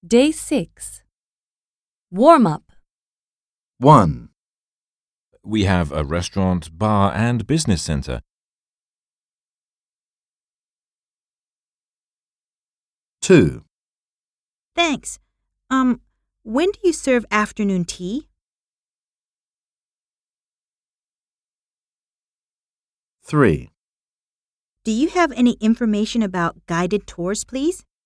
Day 6. Warm-up. 1, We have a restaurant, bar, and business center. 2, Thanks. When do you serve afternoon tea? 3, Do you have any information about guided tours, please?